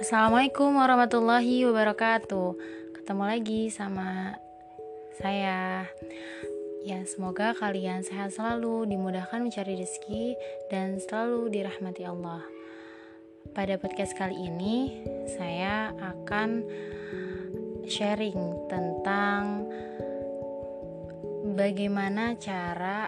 Assalamualaikum warahmatullahi wabarakatuh. Ketemu lagi sama saya. Ya, semoga kalian sehat selalu, dimudahkan mencari rezeki, dan selalu dirahmati Allah. Pada podcast kali ini, saya akan sharing tentang bagaimana cara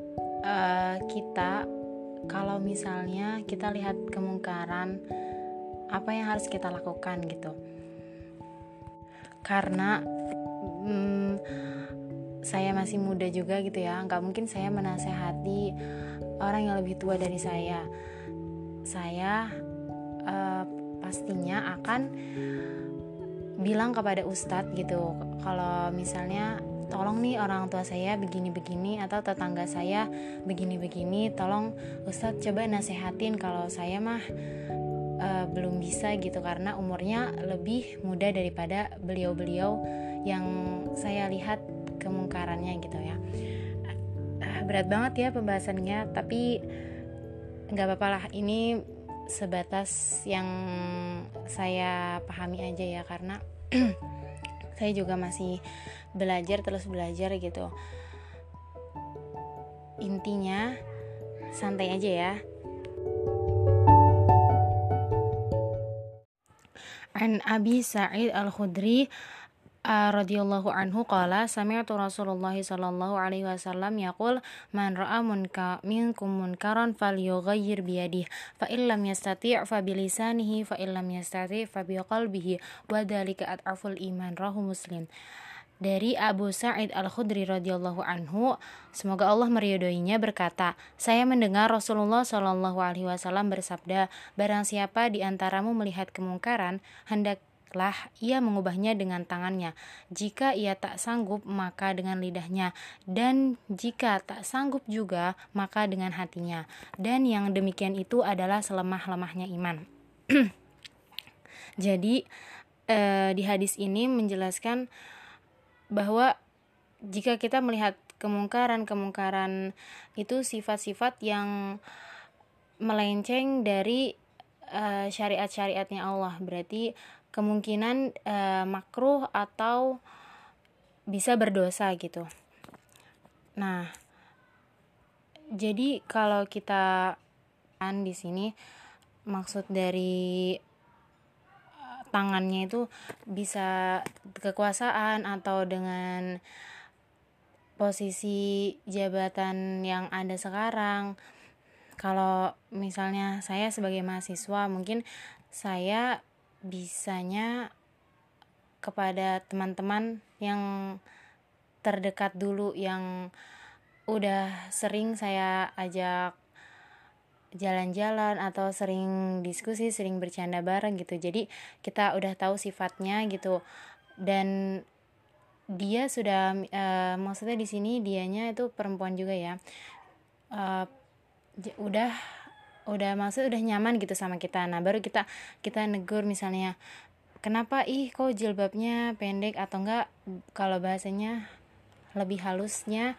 kita kalau misalnya kita lihat kemungkaran, apa yang harus kita lakukan gitu. Karena saya masih muda juga gitu ya, nggak mungkin saya menasehati orang yang lebih tua dari saya. Saya pastinya akan bilang kepada ustadz gitu, kalau misalnya tolong nih orang tua saya begini-begini atau tetangga saya begini-begini, tolong ustadz coba nasehatin, kalau saya mah belum bisa gitu karena umurnya lebih muda daripada beliau-beliau yang saya lihat kemungkarannya gitu ya. Berat banget ya pembahasannya, tapi nggak apa-apa lah, ini sebatas yang saya pahami aja ya, karena saya juga masih terus belajar gitu. Intinya santai aja ya. An Abi Sa'id Al-Khudri radhiyallahu anhu qala sami'tu Rasulullah sallallahu alaihi wasallam yaqul man ra'a minkum munkaran falyughayyir bi yadihi fa illam yastati' fa bi lisanihi fa illam yastati' fa bi qalbihi wa dzalika ad'aful iman, rawahu Muslim. Dari Abu Sa'id Al-Khudri radhiyallahu anhu, semoga Allah meridhoinya, berkata, saya mendengar Rasulullah Shallallahu alaihi wasallam bersabda, barang siapa di antaramu melihat kemungkaran, hendaklah ia mengubahnya dengan tangannya. Jika ia tak sanggup, maka dengan lidahnya, dan jika tak sanggup juga, maka dengan hatinya. Dan yang demikian itu adalah selemah-lemahnya iman. Jadi di hadis ini menjelaskan bahwa jika kita melihat kemungkaran itu sifat-sifat yang melenceng dari syariat-syariatnya Allah, berarti kemungkinan makruh atau bisa berdosa gitu. Nah, jadi kalau kita di sini maksud dari tangannya itu bisa kekuasaan atau dengan posisi jabatan yang ada sekarang. Kalau misalnya saya sebagai mahasiswa, mungkin saya bisanya kepada teman-teman yang terdekat dulu, yang udah sering saya ajak jalan-jalan atau sering diskusi, sering bercanda bareng gitu. Jadi kita udah tahu sifatnya gitu, dan dia sudah maksudnya di sini dianya itu perempuan juga ya, udah maksud udah nyaman gitu sama kita. Nah, baru kita negur misalnya, kenapa kok jilbabnya pendek, atau enggak kalau bahasanya lebih halusnya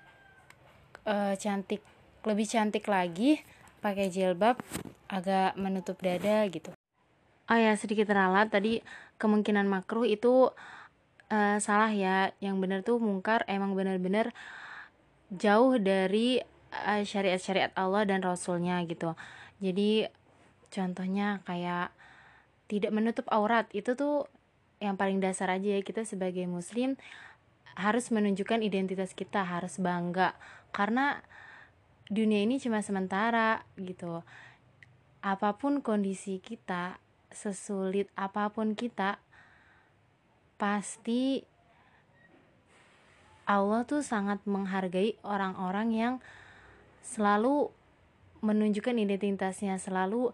lebih cantik lagi pakai jilbab agak menutup dada gitu. Oh ya, sedikit ralat tadi, kemungkinan makruh itu salah ya. Yang benar tuh mungkar emang benar-benar jauh dari syariat-syariat Allah dan Rasulnya gitu. Jadi contohnya kayak tidak menutup aurat, itu tuh yang paling dasar aja ya. Kita sebagai muslim harus menunjukkan identitas kita, harus bangga, karena dunia ini cuma sementara gitu. Apapun kondisi kita, sesulit apapun kita, pasti Allah tuh sangat menghargai orang-orang yang selalu menunjukkan identitasnya, selalu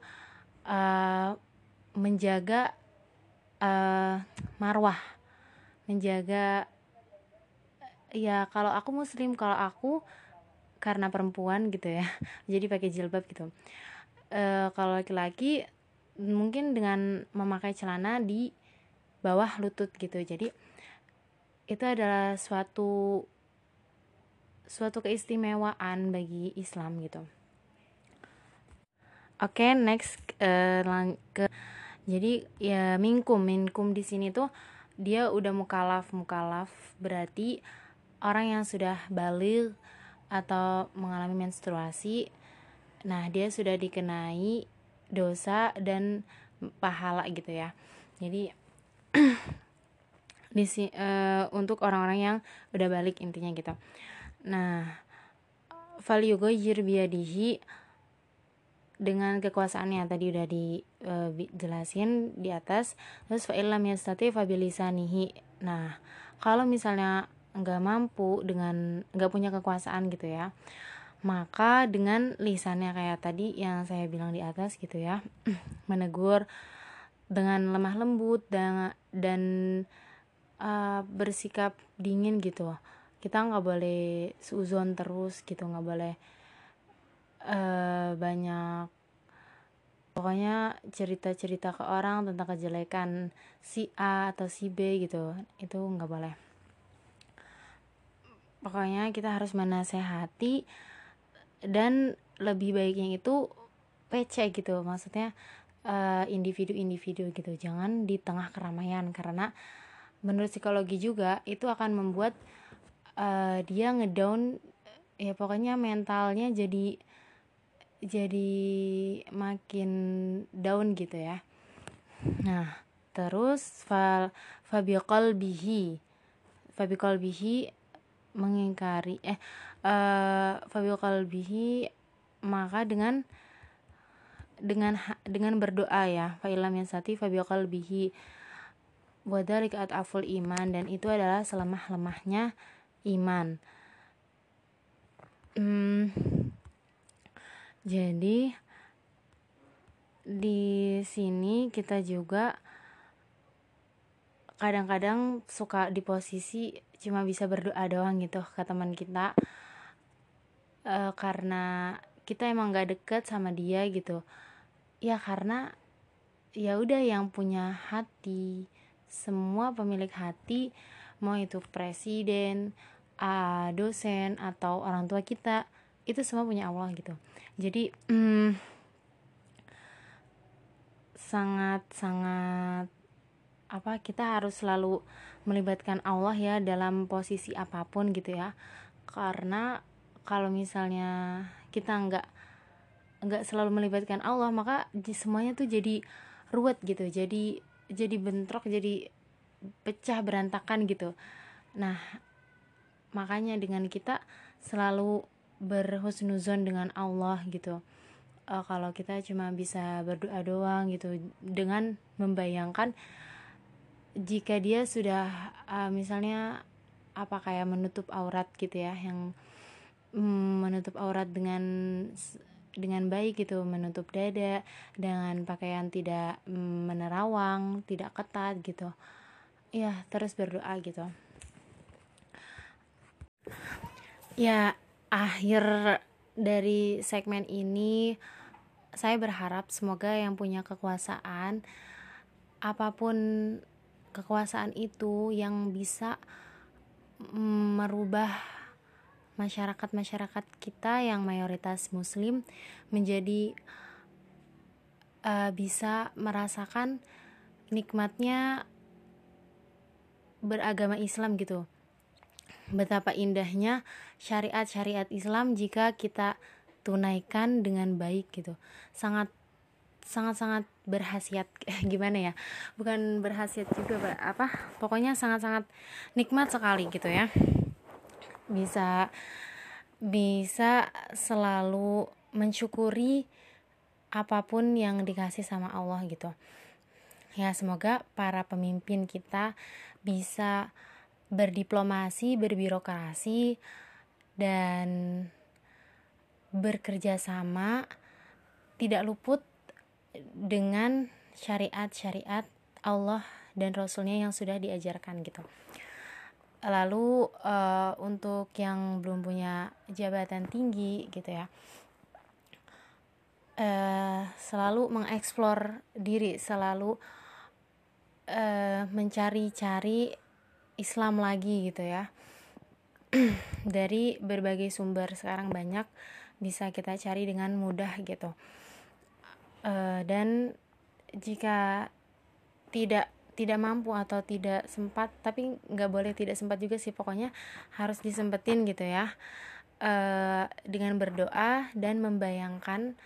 menjaga marwah, menjaga ya. Kalau aku muslim, kalau aku karena perempuan gitu ya, jadi pakai jilbab gitu. Kalau laki-laki mungkin dengan memakai celana di bawah lutut gitu. Jadi itu adalah suatu keistimewaan bagi Islam gitu. Oke, next Jadi ya minkum di sini tuh dia udah mukalaf berarti orang yang sudah balik atau mengalami menstruasi. Nah, dia sudah dikenai dosa dan pahala gitu ya. Jadi untuk orang-orang yang udah balik intinya gitu. Nah, falyughayyir biyadihi, dengan kekuasaannya tadi udah dijelasin di atas. Terus fa illam yastati fa bilisanihi. Nah, kalau misalnya nggak mampu, dengan nggak punya kekuasaan gitu ya, maka dengan lisannya kayak tadi yang saya bilang di atas gitu ya, menegur dengan lemah lembut dan bersikap dingin gitu. Kita nggak boleh suzon terus gitu, nggak boleh banyak pokoknya cerita-cerita ke orang tentang kejelekan si A atau si B gitu, itu nggak boleh. Pokoknya kita harus menasehati, dan lebih baiknya itu PC gitu, maksudnya individu-individu gitu, jangan di tengah keramaian, karena menurut psikologi juga itu akan membuat dia ngedown, ya pokoknya mentalnya jadi makin down gitu ya. Nah, terus fabiqalbihi mengingkari fabiqalbihi, maka dengan berdoa ya, fa illam yasati fabiqalbihi wa dzalika at'aful iman, dan itu adalah selemah-lemahnya iman. Jadi di sini kita juga kadang-kadang suka di posisi cuma bisa berdoa doang gitu ke teman kita, karena kita emang gak deket sama dia gitu ya, karena ya udah, yang punya hati, semua pemilik hati, mau itu presiden, dosen, atau orang tua kita, itu semua punya Allah gitu. Jadi sangat-sangat kita harus selalu melibatkan Allah ya dalam posisi apapun gitu ya, karena kalau misalnya kita nggak selalu melibatkan Allah, maka semuanya tuh jadi ruwet gitu, jadi bentrok, jadi pecah berantakan gitu. Nah, makanya dengan kita selalu berhusnuzon dengan Allah gitu. Kalau kita cuma bisa berdoa doang gitu, dengan membayangkan jika dia sudah misalnya kayak menutup aurat gitu ya, yang menutup aurat dengan baik gitu, menutup dada dengan pakaian tidak menerawang, tidak ketat gitu ya, terus berdoa gitu ya. Akhir dari segmen ini, saya berharap semoga yang punya kekuasaan, apapun kekuasaan itu, yang bisa merubah masyarakat kita yang mayoritas muslim menjadi bisa merasakan nikmatnya beragama Islam gitu. Betapa indahnya syariat Islam jika kita tunaikan dengan baik gitu. Sangat berhasiat gimana ya, bukan berhasiat juga pokoknya sangat nikmat sekali gitu ya, bisa selalu mensyukuri apapun yang dikasih sama Allah gitu ya. Semoga para pemimpin kita bisa berdiplomasi, berbirokrasi, dan bekerja sama, tidak luput dengan syariat Allah dan Rasulnya yang sudah diajarkan gitu. Lalu untuk yang belum punya jabatan tinggi gitu ya, selalu mengeksplor diri, selalu mencari-cari Islam lagi gitu ya. Dari berbagai sumber sekarang banyak, bisa kita cari dengan mudah gitu. Dan jika tidak mampu atau tidak sempat, tapi nggak boleh tidak sempat juga sih, pokoknya harus disempetin gitu ya, dengan berdoa dan membayangkan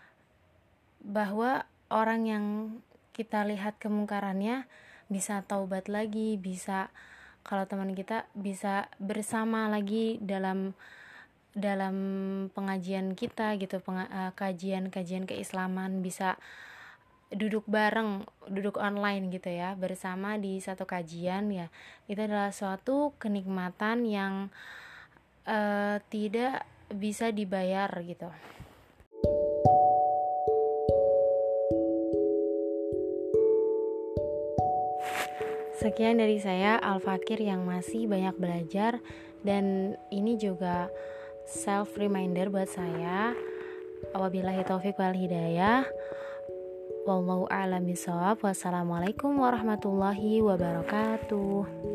bahwa orang yang kita lihat kemungkarannya bisa taubat lagi, bisa, kalau teman kita bisa bersama lagi dalam pengajian kita gitu, kajian keislaman, bisa duduk bareng, duduk online gitu ya, bersama di satu kajian ya. Itu adalah suatu kenikmatan yang tidak bisa dibayar gitu. Sekian dari saya, Al-Fakir, yang masih banyak belajar, dan ini juga self reminder buat saya. Wabillahi taufiq wal hidayah. Wallahu a'lam bishawab. Wassalamualaikum warahmatullahi wabarakatuh.